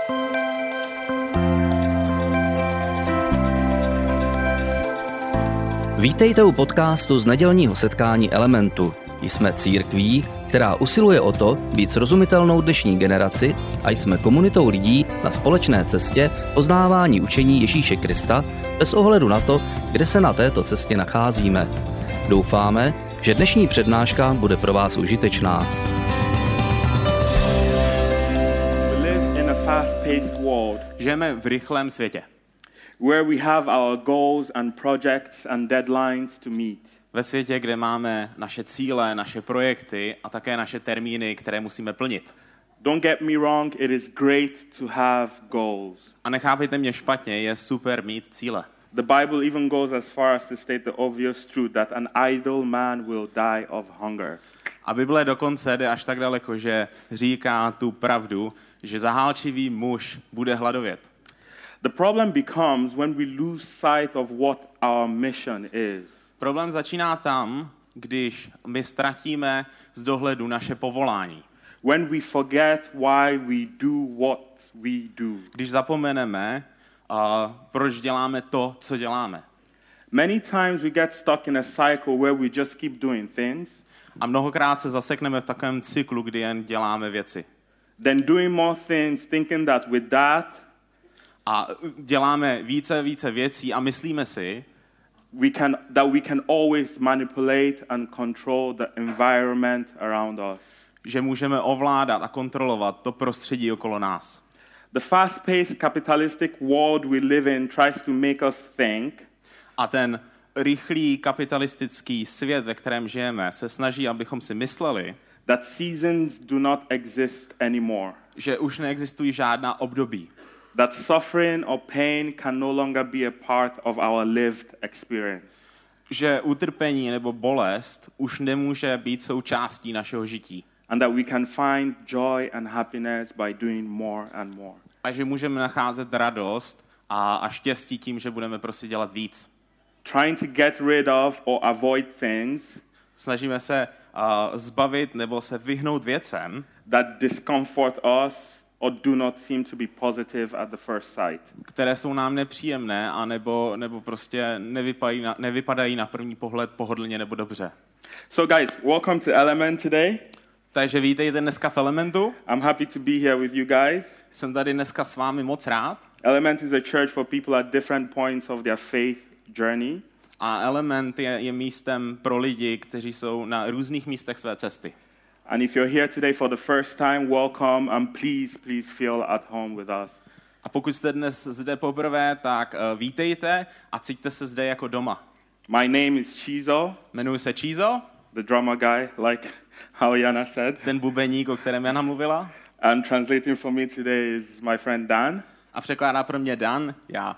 Vítejte u podcastu z nedělního setkání Elementu. Jsme církví, která usiluje o to být srozumitelnou dnešní generaci a jsme komunitou lidí na společné cestě poznávání učení Ježíše Krista bez ohledu na to, kde se na této cestě nacházíme. Doufáme, že dnešní přednáška bude pro vás užitečná. Žijeme v rychlém světě, where we have our goals and projects and deadlines to meet. ve světě, kde máme naše cíle, naše projekty a také naše termíny, které musíme plnit. Don't get me wrong, it is great to have goals. A nechápejte mě špatně, je super mít cíle. The Bible even goes as far as to state the obvious truth that an idle man will die of hunger. A Bible dokonce jde až tak daleko, že říká tu pravdu, že zahálčivý muž bude hladovět. The problem becomes when we lose sight of what our mission is. Problém začíná tam, když my ztratíme z dohledu naše povolání. When we forget why we do what we do. Když zapomeneme, proč děláme to, co děláme. Many times we get stuck in a cycle where we just keep doing things. A mnohokrát se zasekneme v takovém cyklu, kdy jen děláme věci. Then doing more things, thinking that with that A děláme více věcí a myslíme si, we can always manipulate and control the environment around us. že můžeme ovládat a kontrolovat to prostředí okolo nás. The fast-paced capitalistic world we live in tries to make us think A ten rychlý kapitalistický svět, ve kterém žijeme, se snaží, abychom si mysleli, that seasons do not exist anymore. že už neexistují žádná období. That suffering or pain can no longer be a part of our lived experience. Že utrpení nebo bolest už nemůže být součástí našeho žití. And that we can find joy and happiness by doing more and more. A že můžeme nacházet radost a štěstí tím, že budeme prostě dělat víc. Trying to get rid of or avoid things Snažíme se zbavit nebo se vyhnout věcem, that discomfort us or do not seem to be positive at the first sight. které jsou nám nepříjemné a nebo prostě nevypadají na první pohled pohodlně nebo dobře. So guys, welcome to Element today. Takže vítejte dneska v Elementu. I'm happy to be here with you guys. Jsem tady dneska s vámi moc rád. Element is a church for people at different points of their faith journey. A Element je místem pro lidi, kteří jsou na různých místech své cesty. And if you're here today for the first time, welcome and please feel at home with us. A pokud jste dnes zde poprvé, tak vítejte a cíťte se zde jako doma. My name is Chizo, Jmenuji se Chizo, the drummer guy, like how Jana said. ten bubeník, o kterém Jana mluvila. And translating for me today is my friend Dan. A překládá pro mě Dan, já.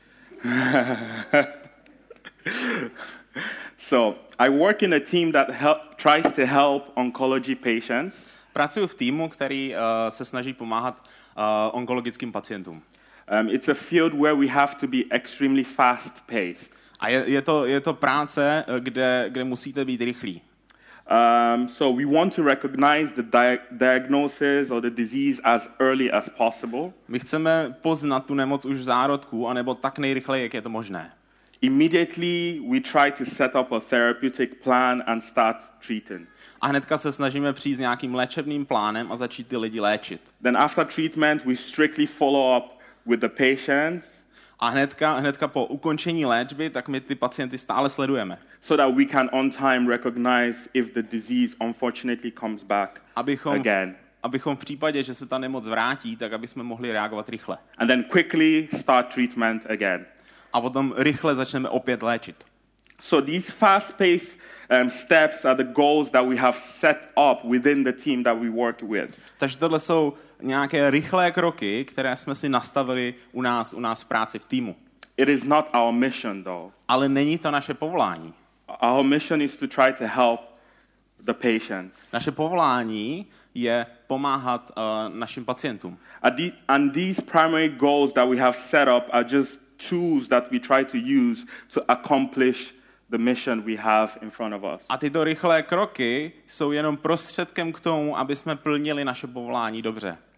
So, I work in a team that tries to help oncology patients. Pracuji v týmu, který se snaží pomáhat onkologickým pacientům. It's a field where we have to be extremely fast-paced. A je to práce, kde musíte být rychlí. So we want to recognize the diagnosis or the disease as early as possible. My chceme poznat tu nemoc už v zárodku, anebo tak nejrychleji, jak je to možné. Immediately we try to set up a therapeutic plan and start treating. A hnedka se snažíme přijít s nějakým léčebným plánem a začít ty lidi léčit. Then after treatment we strictly follow up with the patients. A hnedka po ukončení léčby, tak my ty pacienty stále sledujeme. So that we can on time recognize if the disease unfortunately comes back again. Abychom v případě, že se ta nemoc vrátí, tak aby jsme mohli reagovat rychle. And then quickly start treatment again. A potom rychle začneme opět léčit. So these fast-paced steps are the goals that we have set up within the team that we work with. Takže tohle jsou nějaké rychlé kroky, které jsme si nastavili u nás v práci v týmu. It is not our mission though. Ale není to naše povolání. Our mission is to try to help the patients. Naše povolání je pomáhat našim pacientům. And these primary goals that we have set up are just tools that we try to use to accomplish the mission we have in front of us. A tyto rychlé kroky jsou jenom prostředkem k tomu, aby jsme plnili naše povolání dobře.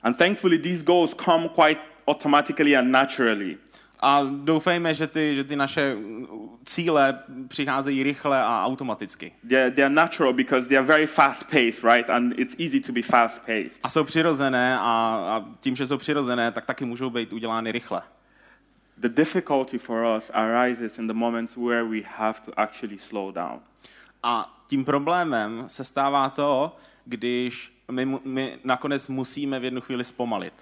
And thankfully these goals come quite automatically and naturally. A doufejme, že ty naše cíle přicházejí rychle a automaticky. They're natural because they are very fast-paced, right? And it's easy to be fast-paced. A jsou přirozené a tím, že jsou přirozené, tak taky můžou být udělány rychle. The difficulty for us arises in the moments where we have to actually slow down. A tím problémem se stává to, když my nakonec musíme v jednu chvíli zpomalit.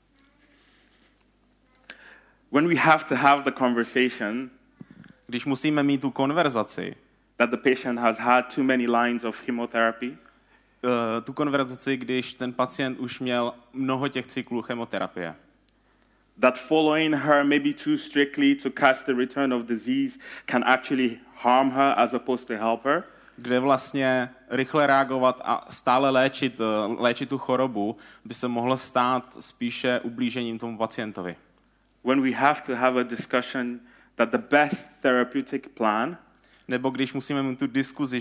When we have to have the conversation, Když musíme mít tu konverzaci, that the patient has had too many lines of chemotherapy, tu konverzaci, když ten pacient už měl mnoho těch cyklů chemoterapie. that following her maybe too strictly to catch the return of disease can actually harm her as opposed to help her. Kde vlastně rychle reagovat a stále léčit tu chorobu by se mohlo stát spíše ublížením tomu pacientovi. When we have to have a discussion that the best therapeutic plan Nebo když musíme mít tu diskuzi,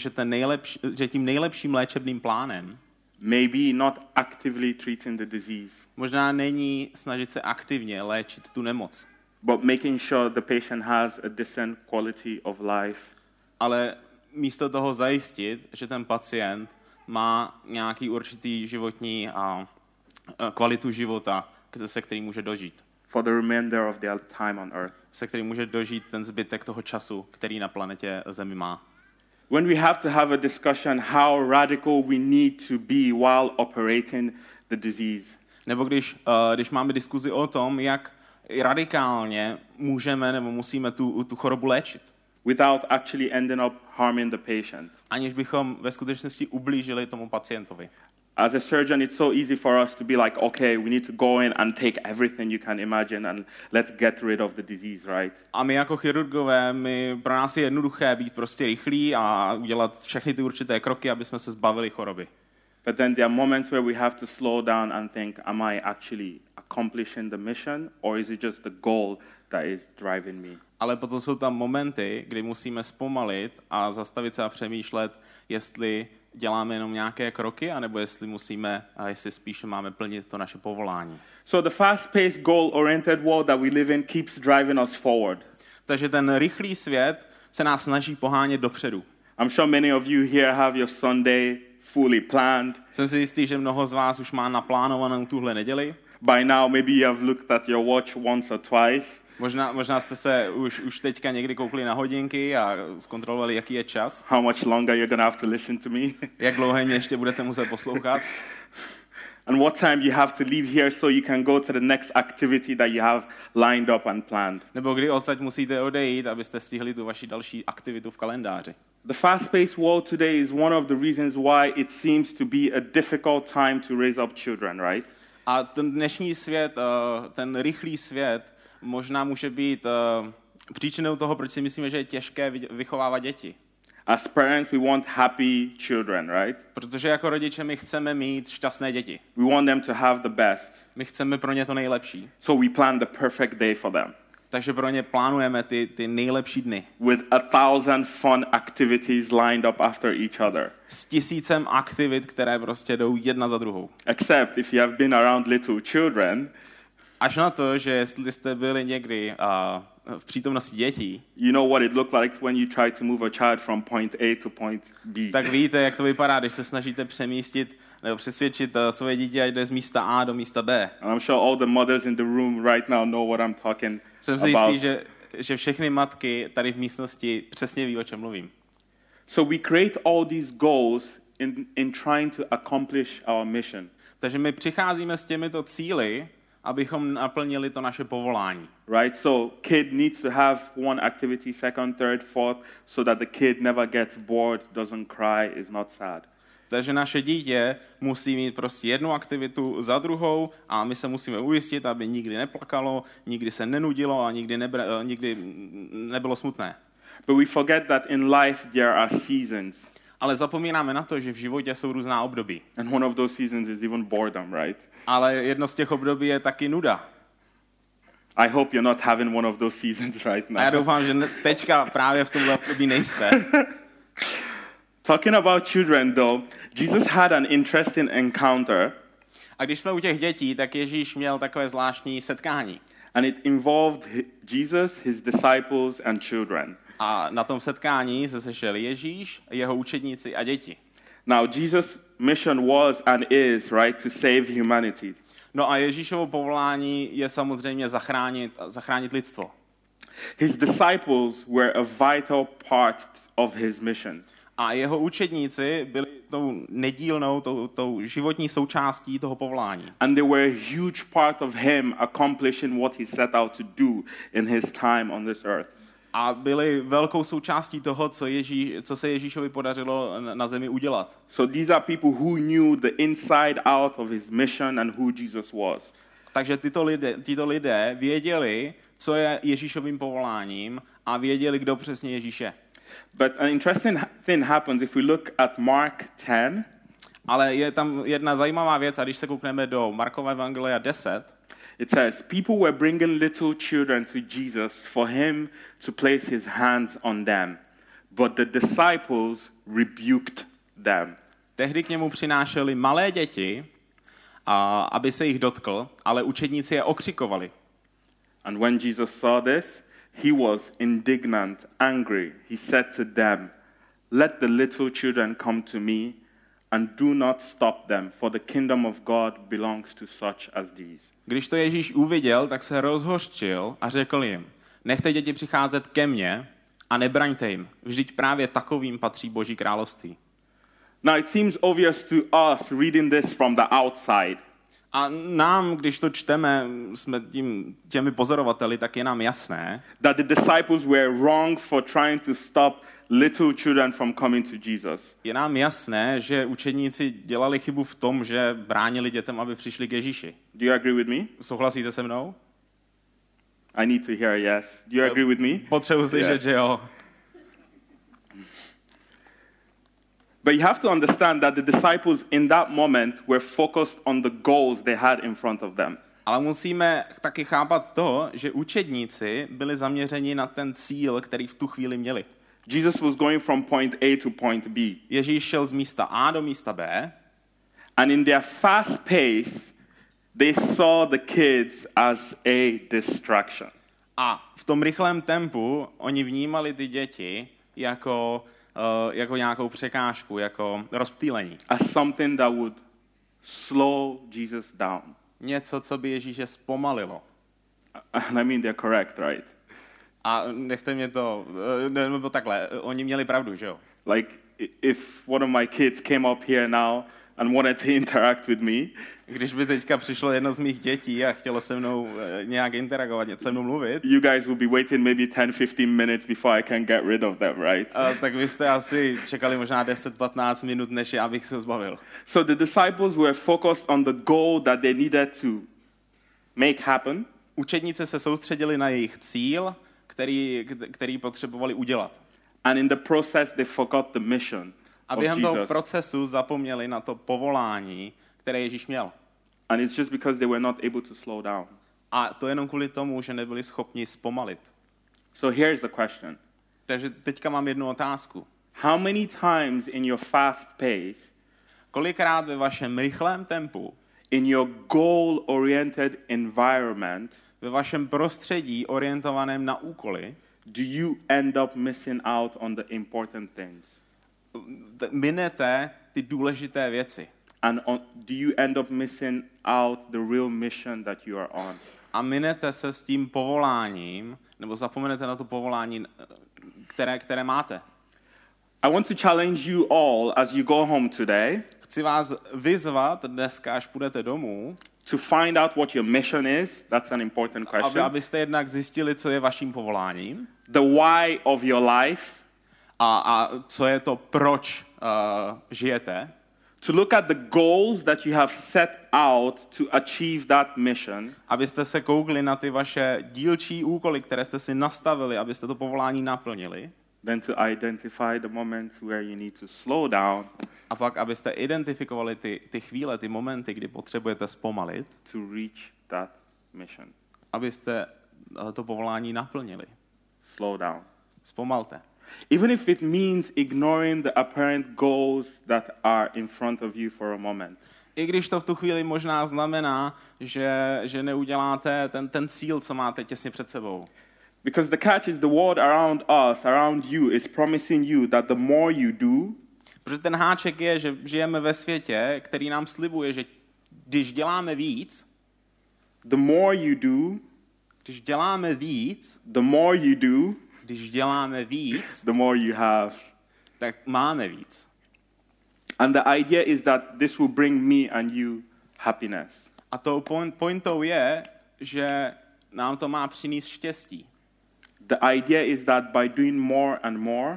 že tím nejlepším léčebným plánem maybe not actively treating the disease, možná není snažit se aktivně léčit tu nemoc, but making sure the patient has a decent quality of life. ale místo toho zajistit, že ten pacient má nějaký určitý životní a kvalitu života, se kterým může dožít. For the remainder of their time on earth. Se kterým může dožít ten zbytek toho času, který na planetě Zemi má. When we have to have a discussion how radical we need to be while operating the disease. Nebo když máme diskuzi o tom, jak radikálně můžeme nebo musíme tu chorobu léčit. Without actually ending up harming the patient. Aniž bychom ve skutečnosti ublížili tomu pacientovi. As a surgeon, it's so easy for us to be like, okay, we need to go in and take everything you can imagine and let's get rid of the disease, right? A my jako chirurgové, pro nás je jednoduché být prostě rychlí a udělat všechny ty určité kroky, aby jsme se zbavili choroby. But then there are moments where we have to slow down and think, am I actually accomplishing the mission or is it just the goal that is driving me? Ale potom jsou tam momenty, kdy musíme zpomalit a zastavit se a přemýšlet, jestli děláme jenom nějaké kroky, anebo jestli spíše máme plnit to naše povolání. So the fast-paced, goal-oriented world that we live in keeps driving us forward. Takže ten rychlý svět se nás snaží pohánět dopředu. I'm sure many of you here have your Sunday fully planned. Jsem si jistý, že mnoho z vás už má naplánovanou tuhle neděli. By now maybe you have looked at your watch once or twice. Možná jste se už teďka někdy koukli na hodinky a zkontrolovali, jaký je čas. How much longer you're gonna have to listen to me. Jak dlouho mě ještě budete muset poslouchat. And what time you have to leave here so you can go to the next activity that you have lined up and planned. Nebo kdy odsaď musíte odejít, abyste stihli tu vaši další aktivitu v kalendáři. The fast-paced world today is one of the reasons why it seems to be a difficult time to raise up children, right? A ten dnešní svět, ten rychlý svět, možná může být příčinou toho, proč si myslíme, že je těžké vychovávat děti. As parents, we want happy children, right? Protože jako rodiče my chceme mít šťastné děti. We want them to have the best. My chceme pro ně to nejlepší. So we plan the perfect day for them. Takže pro ně plánujeme ty nejlepší dny. With 1,000 fun activities lined up after each other. S 1000 aktivit, které prostě jdou jedna za druhou. Except if you have been around little children, až na to, že jestli jste byli někdy v přítomnosti dětí, you know what it looked like when you try to move a child from point A to point B. Tak víte, jak to vypadá, když se snažíte přemístit nebo přesvědčit svoje dítě, ať jde z místa A do místa B. And I'm sure all the mothers in the room right now know what I'm talking about. Jsem si jistý, že všechny matky tady v místnosti přesně ví, o čem mluvím. So we create all these goals in trying to accomplish our mission. Takže my přicházíme s těmito cíli, abychom naplnili to naše povolání. Right? So kid needs to have one activity, second, third, fourth, so that the kid never gets bored, doesn't cry, is not sad. Takže naše dítě musí mít prostě jednu aktivitu za druhou a my se musíme ujistit, aby nikdy neplakalo, nikdy se nenudilo a nikdy nebylo smutné. But we forget that in life there are seasons. Ale zapomínáme na to, že v životě jsou různá období. And one of those seasons is even boredom, right? Ale jedno z těch období je taky nuda. I hope you're not having one of those seasons right now. A já doufám, že teďka právě v tomhle období nejste. Talking about children though, Jesus had an interesting encounter. A když jsme u těch dětí, tak Ježíš měl takové zvláštní setkání. And it involved Jesus, his disciples, and children. A na tom setkání se sešel Ježíš, jeho učedníci a děti. Now, Jesus' mission was and is, right, to save humanity. No a Ježíšovo povolání je samozřejmě zachránit lidstvo. His disciples were a vital part of his mission. A jeho učedníci byli tou nedílnou, tou životní součástí toho povolání. And they were a huge part of him accomplishing what he set out to do in his time on this earth. A byli velkou součástí toho, co se Ježíšovi podařilo na zemi udělat. So these are people who knew the inside out of his mission and who Jesus was. Takže tyto lidé věděli, co je Ježíšovým povoláním a věděli, kdo přesně Ježíš je. But an interesting thing happens if we look at Mark 10. Ale je tam jedna zajímavá věc, a když se koukneme do Markova evangelia 10, It says, people were bringing little children to Jesus for him to place his hands on them, but the disciples rebuked them. Tehdy k němu přinášeli malé děti, aby se jich dotkl, ale učedníci je okřikovali. And when Jesus saw this, he was indignant, angry. He said to them, let the little children come to me, and do not stop them, for the kingdom of God belongs to such as these. Když to Ježíš uviděl, tak se rozhořčil a řekl jim, nechte děti přicházet ke mně a nebraňte jim, vždyť právě takovým patří Boží království. Now it seems obvious to us reading this from the outside. A nám, když to čteme, jsme těmi pozorovateli, tak je nám jasné, that the disciples were wrong for trying to stop little children from coming to Jesus. Je nám jasné, že učedníci dělali chybu v tom, že bránili dětem, aby přišli k Ježíši. Do you agree with me? Souhlasíte se mnou? I need to hear yes. Do you agree with me? Potřebuji slyšet, že jo. But you have to understand that the disciples in that moment were focused on the goals they had in front of them. Ale musíme taky chápat to, že učedníci byli zaměřeni na ten cíl, který v tu chvíli měli. Jesus was going from point A to point B. Ježíš šel z místa A do místa B. And in their fast pace, they saw the kids as a distraction. A v tom rychlém tempu oni vnímali ty děti jako nějakou překážku, jako rozptýlení. As something that would slow Jesus down. Něco, co by Ježíše zpomalilo. And I mean they're correct, right? A nechte mě to, nebo takhle, oni měli pravdu, že jo? Like, if one of my kids came up here now and wanted to interact with me, když by teďka přišlo jedno z mých dětí a chtělo se mnou nějak interagovat, se mnou mluvit, you guys will be waiting maybe 10-15 minutes before I can get rid of them, right? Tak vy jste asi čekali možná 10-15 minut, než abych se zbavil. So the disciples were focused on the goal that they needed to make happen. Učedníci se soustředili na jejich cíl, který potřebovali udělat. And in the process they forgot the mission. A během toho procesu zapomněli na to povolání, které Ježíš měl. And it's just because they were not able to slow down. A to jenom kvůli tomu, že nebyli schopni zpomalit. So here's the question. Takže teďka mám jednu otázku. How many times in your fast pace, kolikrát ve vašem rychlém tempu, in your goal-oriented environment, ve vašem prostředí orientovaném na úkoly, do you end up missing out on the important things? minete ty důležité věci. And do you end up missing out the real mission that you are on? A minete se s tím povoláním, nebo zapomenete na to povolání, které máte. I want to challenge you all as you go home today. Chci vás vyzvat dneska, až půjdete domů, to find out what your mission is. That's an important question. Abyste jednak zjistili, co je vaším povoláním. The why of your life. A co je to, proč žijete. To look at the goals that you have set out to achieve that mission. Abyste se koukli na ty vaše dílčí úkoly, které jste si nastavili, abyste to povolání naplnili. Then to identify the moments where you need to slow down. A pak, abyste identifikovali ty chvíle, ty momenty, kdy potřebujete zpomalit. To reach that mission. Abyste to povolání naplnili. Slow down. Zpomalte. Even if it means ignoring the apparent goals that are in front of you for a moment. I když to v tu chvíli možná znamená, že neuděláte ten cíl, co máte těsně před sebou. Because the catch is the world around us, around you, is promising you that the more you do, Protože ten háček je, že žijeme ve světě, který nám slibuje, že když děláme víc, the more you do, když děláme víc, the more you do, když děláme víc, the more you have. tak máme víc. And the idea is that this will bring me and you happiness. A tou pointou je, že nám to má přinést štěstí. The idea is that by doing more and more,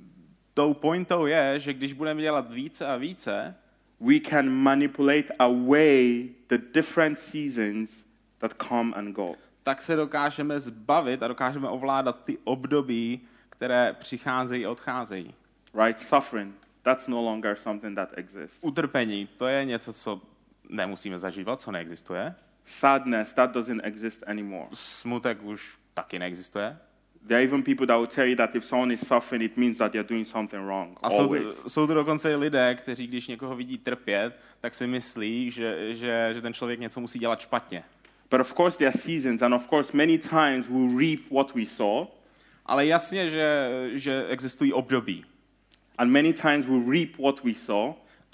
Tou pointou je, že když budeme dělat více a více, we can manipulate away the different seasons that come and go. tak se dokážeme zbavit a dokážeme ovládat ty období, které přicházejí a odcházejí. Right? Suffering, that's no longer something that exists. Utrpení, to je něco, co nemusíme zažívat, co neexistuje. Sadness, that doesn't exist anymore. Smutek už taky neexistuje. There are even people that will tell you that if someone is suffering, it means that they're doing something wrong. A Always. jsou tu dokonce lidé, kteří, když někoho vidí trpět, tak si myslí, že ten člověk něco musí dělat špatně. But of course there are seasons, and of course many times we'll reap what we sow, Ale jasně, že existují období. and many times we'll reap what we sow,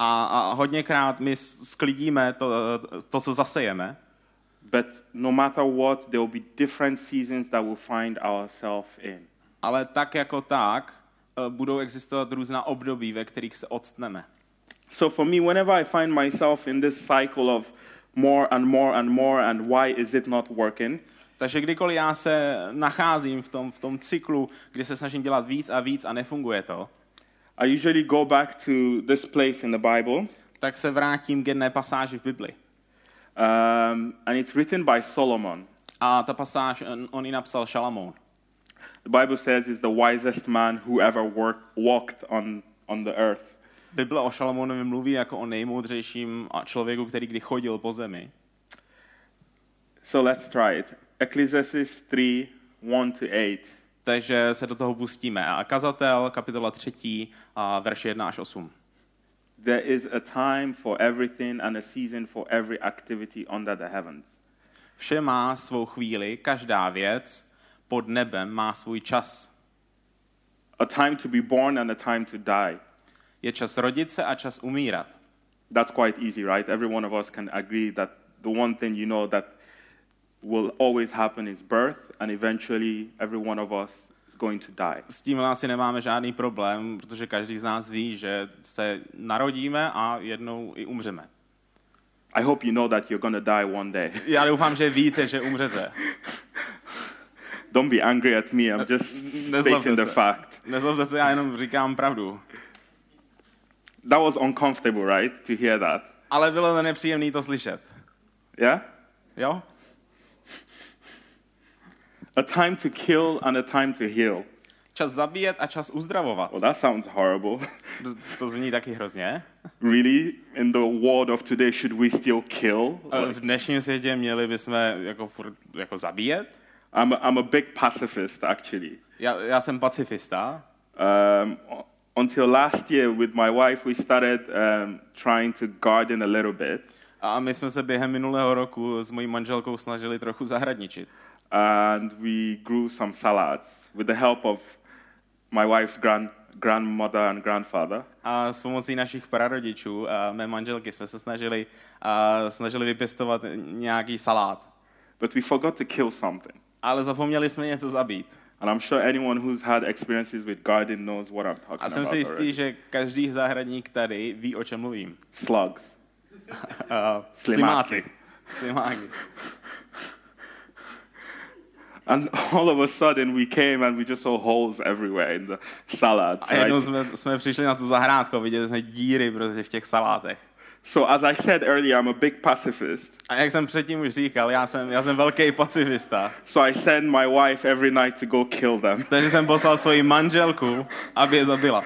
A hodněkrát my sklidíme to, co zasejeme, but no matter what, there will be different seasons that we'll find ourselves in. ale tak jako tak budou existovat různá období, ve kterých se odstneme. So for me, whenever I find myself in this cycle of more and more and more, and why is it not working, Takže kdykoliv já se nacházím v tom cyklu, kdy se snažím dělat víc a víc a nefunguje to, I usually go back to this place in the Bible, tak se vrátím k jedné pasáži v Bibli. and it's written by Solomon. A ta pasáž, on ji napsal Šalamoun. The Bible says he's the wisest man who ever walked on the earth. Bible o Šalamounovi mluví jako o nejmoudřejším člověku, který kdy chodil po zemi. So let's try it. Ecclesiastes 3, 1-8. Takže se do toho pustíme. A Kazatel, kapitola 3, verše 1 až 8. There is a time for everything and a season for every activity under the heavens. Vše má svou chvíli, každá věc pod nebem má svůj čas. A time to be born and a time to die. Je čas rodit se a čas umírat. That's quite easy, right? Every one of us can agree that the one thing you know that will always happen is birth, and eventually every one of us is going to die. S tím asi nemáme žádný problém, protože každý z nás ví, že se narodíme a jednou i umřeme. I hope you know that you're going to die one day. Já doufám, že víte, že umřete. Don't be angry at me, I'm just stating the fact. Nezlobte se, já jenom říkám pravdu. That was uncomfortable, right, to hear that? Ale bylo to nepříjemné to slyšet. Yeah? Jo? A time to kill and a time to heal. Čas zabíjet a čas uzdravovat. Well, that sounds horrible. To zní taky hrozně. Really? In the world of today, should we still kill? V dnešním světě měli bychom jako zabíjet? I'm a big pacifist, actually. Já jsem pacifista. Until last year with my wife, we started trying to garden a little bit. A my jsme se během minulého roku s mojí manželkou snažili trochu zahradničit. And we grew some salads with the help of my wife's grandmother and grandfather. A s pomocí našich prarodičů a mé manželky jsme se snažili vypěstovat nějaký salát. But we forgot to kill something. Ale zapomněli jsme něco zabít. And I'm sure anyone who's had experiences with garden knows what I'm talking A jsem about si jistý, already. že každý zahradník tady ví, o čem mluvím. Slugs. Slimáci. And all of a sudden we came and we just saw holes everywhere in the salads. A jednou jsme přišli na tu zahrádku a viděli jsme díry prostě v těch salátech. So as I said earlier, I'm a big pacifist. A jak jsem předtím už říkal, já jsem velký pacifista. So I send my wife every night to go kill them. Takže jsem poslal svoji manželku, aby je zabila.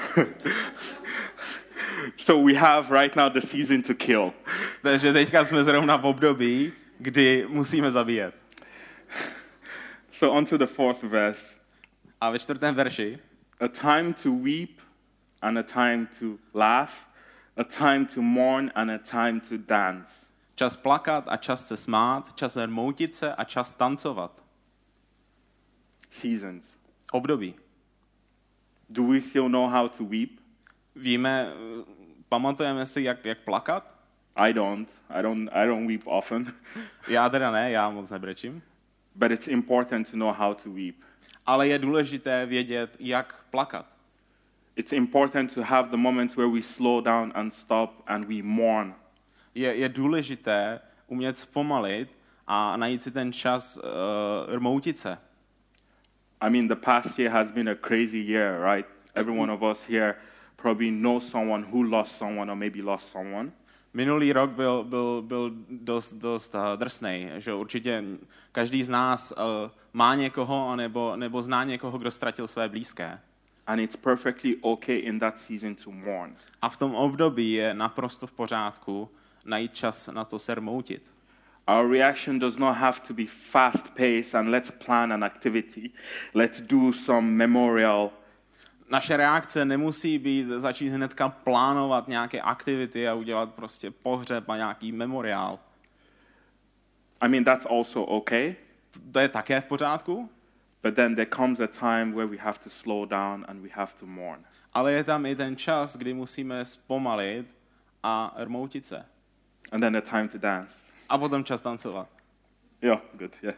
So we have right now the season to kill. Takže teďka jsme zrovna v období, kdy musíme zabíjet. So on to the 4th verse. A ve 4. verši. A time to weep and a time to laugh, a time to mourn and a time to dance. Čas plakat a čas se smát, čas rmoutit se a čas tancovat. Seasons. Období. Do we still know how to weep? Víme, pamatujeme si, jak plakat? I don't weep often. Já teda ne, já moc nebrečím. But it's important to know how to weep. Ale je důležité vědět, jak plakat. It's important to have the moments where we slow down and stop and we mourn. Je důležité umět zpomalit a najít si ten čas rmoutit se. I mean, the past year has been a crazy year, right? Every one of us here probably knows someone who lost someone or maybe lost someone. Minulý rok byl dost drsnej, že určitě každý z nás má někoho nebo zná někoho, kdo ztratil své blízké. And it's perfectly okay in that season to mourn. A v tom období je naprosto v pořádku najít čas na to se rmoutit. Our reaction does not have to be fast-paced and let's plan an activity. Let's do some memorial. Naše reakce nemusí být začít hnedka plánovat nějaké aktivity a udělat prostě pohřeb a nějaký memoriál. I mean, that's also okay. To je také v pořádku, But then there comes a time where we have to slow down and we have to mourn. ale je tam i ten čas, kdy musíme zpomalit a rmoutit se. And then a time to dance. A potom čas tancovat. Yeah, good, yeah.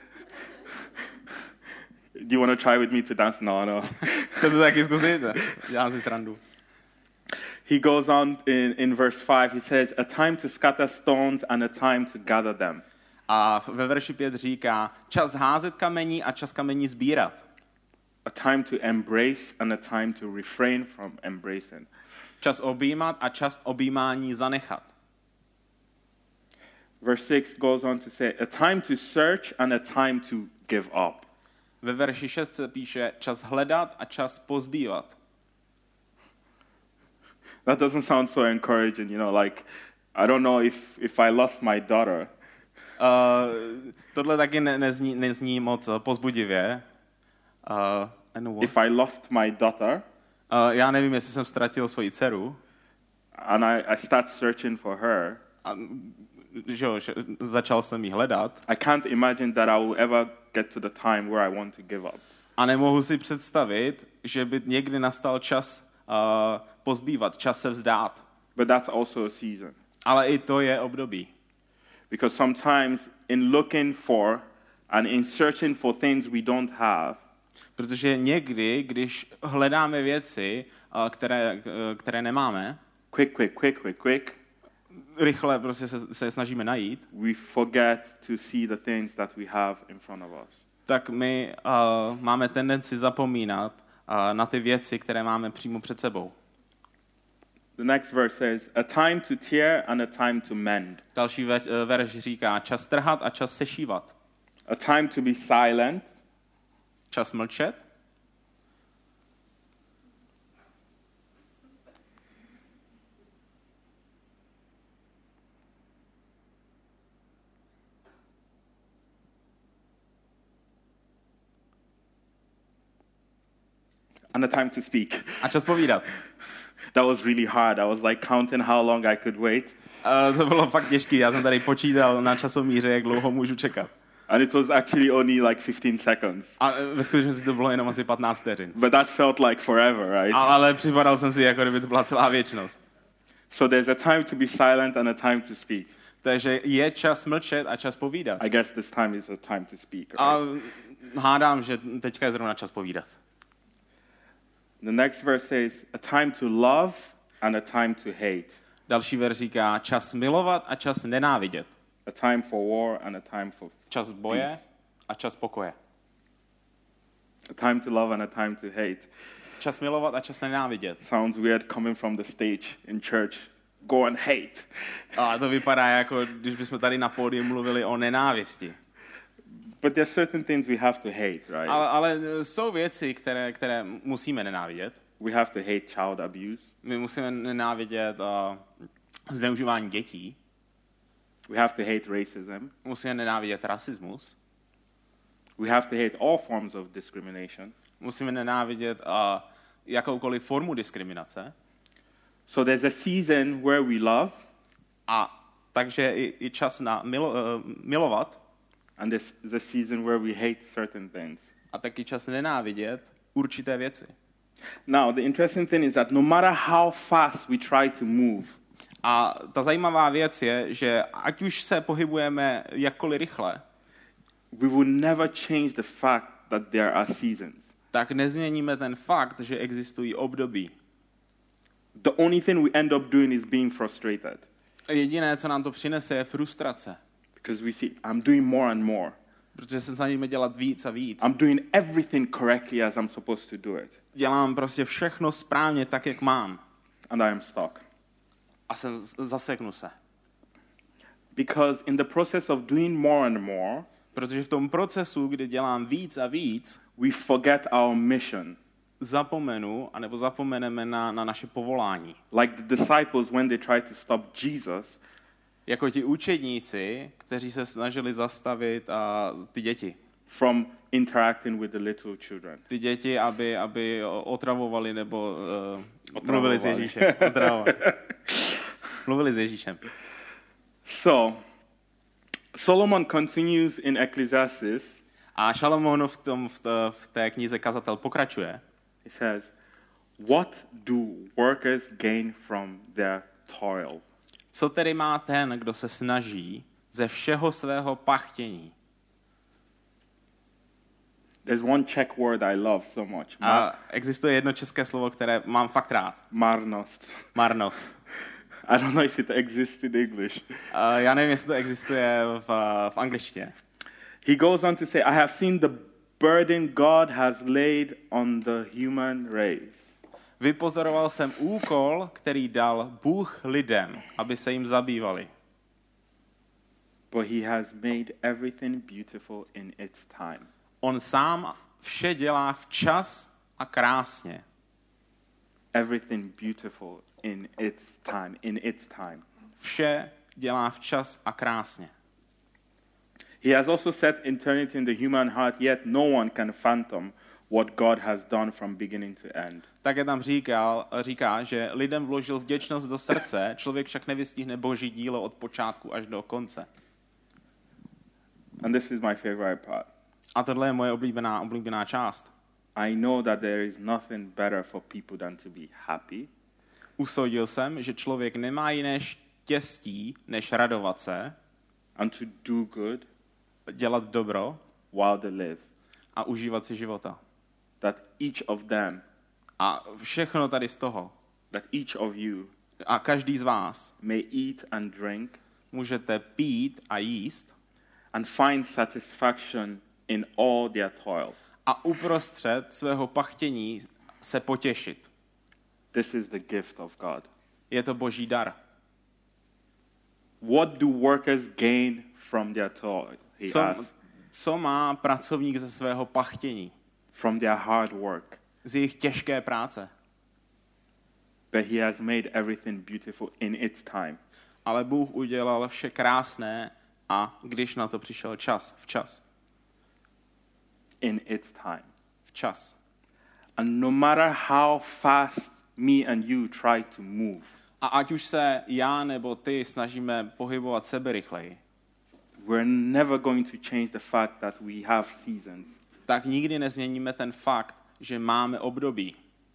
Do you want to try with me to dance? No. Chcete to taky zkusit? Dělám si srandu. He goes on in verse 5, he says, a time to scatter stones and a time to gather them. A ve verši 5 říká, čas házet kamení a čas kamení sbírat. A time to embrace and a time to refrain from embracing. Čas objímat a čas objímání zanechat. Verse 6 goes on to say, a time to search and a time to give up. Ve verši 6 se píše čas hledat a čas pozbývat. That doesn't sound so encouraging, like, I don't know if I lost my daughter. Tohle taky nezní moc pozbudivě. If I lost my daughter, já nevím, jestli jsem ztratil svoji dceru. And I start searching for her. A, začal jsem ji hledat. I can't imagine that I will ever get to the time where I want to give up. A nemohu si představit, že by někdy nastal čas pozbývat, čas se vzdát. But that's also a season. Ale i to je období. Because sometimes in looking for and in searching for things we don't have, protože někdy, když hledáme věci, které nemáme, quick, rychle prostě se snažíme najít, we forget to see the things that we have in front of us. Tak my máme tendenci zapomínat na ty věci, které máme přímo před sebou. The next verse says, a time to tear and a time to mend. Další verš říká, čas trhat a čas sešívat. A time to be silent. Čas mlčet. And a time to speak. A čas povídat. That was really hard. I was like counting how long I could wait. To bylo fakt těžké. Já jsem tady počítal na časomíře, jak dlouho můžu čekat. And it was actually only like 15 seconds. A ve skutečnosti to bylo jenom asi 15 vteřin. But that felt like forever, right? Ale připadal jsem si, jako kdyby to byla celá věčnost. So there's a time to be silent and a time to speak. Takže je čas mlčet a čas povídat. I guess this time is a time to speak. Right? A hádám, že teďka je zrovna čas povídat. The next verse says, a time to love and a time to hate. Další verš říká, čas milovat a čas nenávidět. A time for war and a time for čas boje peace. A čas pokoje. A time to love and a time to hate. Čas milovat a čas nenávidět. Sounds weird coming from the stage in church. Go and hate. A to vypadá jako, když bychom tady na pódiu mluvili o nenávisti. But there's certain things we have to hate, right? Ale jsou věci, které musíme nenávidět. We have to hate child abuse. My musíme nenávidět zneužívání dětí. We have to hate racism. Musíme nenávidět rasismus. We have to hate all forms of discrimination. Musíme nenávidět jakoukoliv formu diskriminace. So there's a season where we love, A takže je čas na milovat and there's the season where we hate certain things. a taky čas nenávidět určité věci. Now, the interesting thing is that no matter how fast we try to move, A ta zajímavá věc je, že ať už se pohybujeme jakkoliv rychle, we will never change the fact that there are seasons. tak nezměníme ten fakt, že existují období. The only thing we end up doing is being frustrated Jediné, co nám to přinese, je frustrace. because we see, I'm doing more and more. Protože se snažíme dělat víc a víc. I'm doing everything correctly as I'm supposed to do it. Dělám prostě všechno správně tak, jak mám. And I am stuck. A zaseknu se. Because in the process of doing more and more, Protože v tom procesu, kdy dělám víc a víc, we forget our mission. zapomeneme na naše povolání. Like the disciples when they tried to stop Jesus, Jako ti učedníci, kteří se snažili zastavit ty děti. from interacting with the little children. Ty děti, aby otravovali nebo Otravovali. mluvili s Ježíšem. Otravovali. Mluvili s Ježíšem. So, Solomon continues in Ecclesiastes. A Šalamoun v té knize Kazatel pokračuje. He says, "What do workers gain from their toil?" Co tedy má ten, kdo se snaží ze všeho svého pachtění? There's one Czech word I love so much. A existuje jedno české slovo, které mám fakt rád. Marnost. Marnost. I don't know if it exists in English. Já nevím, jestli to existuje v angličtině. He goes on to say, I have seen the burden God has laid on the human race. Vypozoroval jsem úkol, který dal Bůh lidem, aby se jim zabývali. But he has made everything beautiful in its time. On sám vše dělá včas a krásně. Everything beautiful in its time. Vše dělá včas a krásně. He has also set eternity in the human heart, yet no one can fathom what God has done from beginning to end. Také tam říká, že lidem vložil vděčnost do srdce, člověk však nevystihne Boží dílo od počátku až do konce. And this is my favorite part. A tohle je moje oblíbená část. I know that there is nothing better for people than to be happy. Usoudil jsem, že člověk nemá jiné štěstí, než radovat se, And to do good dělat dobro while they live. a užívat si života. That each of them, A všechno tady z toho. that each of you A každý z vás may eat and drink můžete pít a jíst and find satisfaction in all their toil. a uprostřed svého pachtění se potěšit. This is the gift of God. Je to Boží dar. What do workers gain from their toil? He asks. Co má pracovník ze svého pachtění? From their hard work. Z jejich těžké práce. But he has made everything beautiful in its time. Ale Bůh udělal vše krásné a když na to přišel čas, včas. In its time. Včas. And no matter how fast me and you try to move, A ať už se já nebo ty snažíme pohybovat sebe rychleji, we're never going to change the fact that we have seasons. tak nikdy nezměníme ten fakt, že máme období.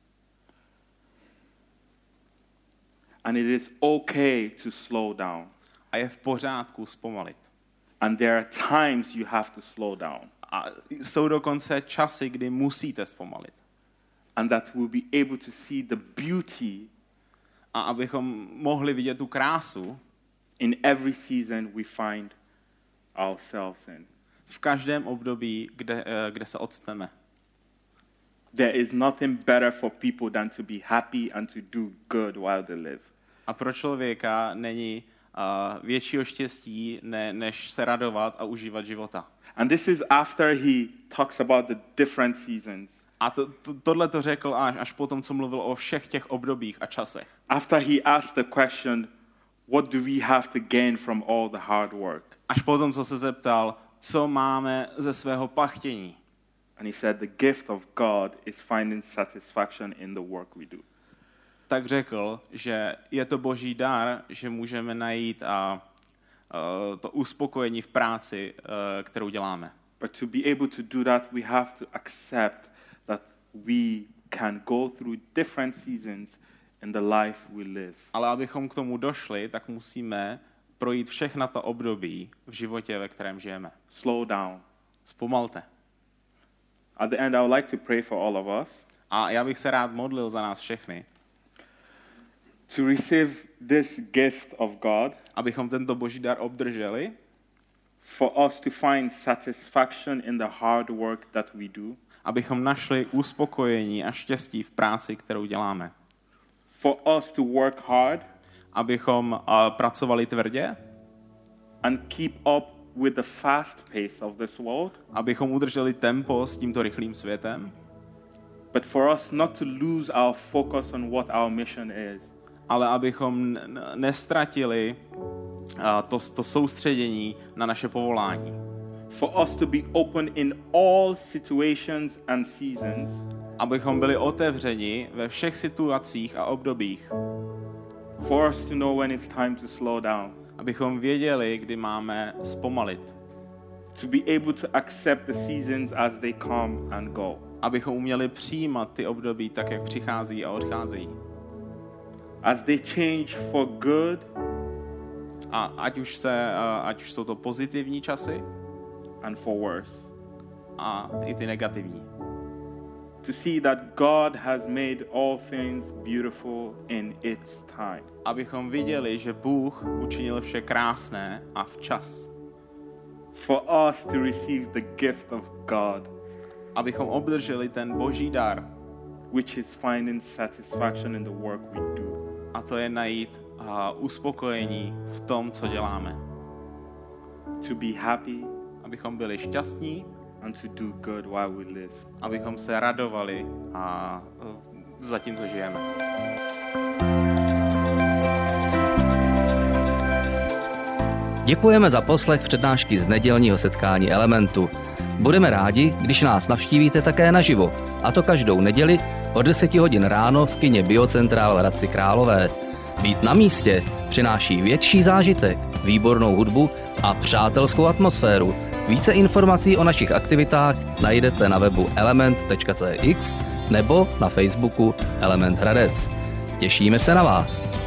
And it is okay to slow down. A je v pořádku zpomalit. And there are times you have to slow down. A jsou dokonce časy, kdy musíte zpomalit. And that we'll be able to see the beauty A abychom mohli vidět tu krásu in every season we find ourselves in. v každém období, kde se odstneme. There is nothing better for people than to be happy and to do good while they live. A pro člověka není většího štěstí, než se radovat a užívat života. And this is after he talks about the different seasons. A tohle to řekl až potom, co mluvil o všech těch obdobích a časech. After he asked the question, what do we have to gain from all the hard work? Až potom, co se zeptal, co máme ze svého pachtění. And he said the gift of God is finding satisfaction in the work we do. tak řekl, že je to boží dar, že můžeme najít to uspokojení v práci, kterou děláme. But to be able to do that, we have to accept that we can go through different seasons in the life we live. Ale abychom k tomu došli, tak musíme projít všechna ta období v životě, ve kterém žijeme. Slow down. Zpomalte. At the end, I would like to pray for all of us. A já bych se rád modlil za nás všechny. To receive this gift of God. Abychom tento boží dar obdrželi. For us to find satisfaction in the hard work that we do. Abychom našli uspokojení a štěstí v práci, kterou děláme. For us to work hard. Abychom pracovali tvrdě. And keep up with the fast pace of this world. Abychom udrželi tempo s tímto rychlým světem. But for us not to lose our focus on what our mission is. Ale abychom nestratili to soustředění na naše povolání. For us to be open in all situations and seasons. Abychom byli otevřeni ve všech situacích a obdobích. For us to know when it's time to slow down. Abychom věděli, kdy máme zpomalit. To be able to accept the seasons as they come and go. Abychom uměli přijímat ty období tak, jak přichází a odcházejí. As they change for good. A ať už jsou to pozitivní časy. And for worse. A i ty negativní. To see that God has made all things beautiful in its time. Abychom viděli, že Bůh učinil vše krásné a včas. For us to receive the gift of God. Abychom obdrželi ten boží dar, which is finding satisfaction in the work we do. A to je najít uspokojení v tom, co děláme. To be happy. Abychom byli šťastní. And to do good while we live. Abychom se radovali za tím, co žijeme. Děkujeme za poslech přednášky z nedělního setkání Elementu. Budeme rádi, když nás navštívíte také naživo, a to každou neděli od 10 hodin ráno v kině Biocentrál v Hradci Králové. Být na místě přináší větší zážitek, výbornou hudbu a přátelskou atmosféru. Více informací o našich aktivitách najdete na webu element.cx nebo na Facebooku Element Hradec. Těšíme se na vás.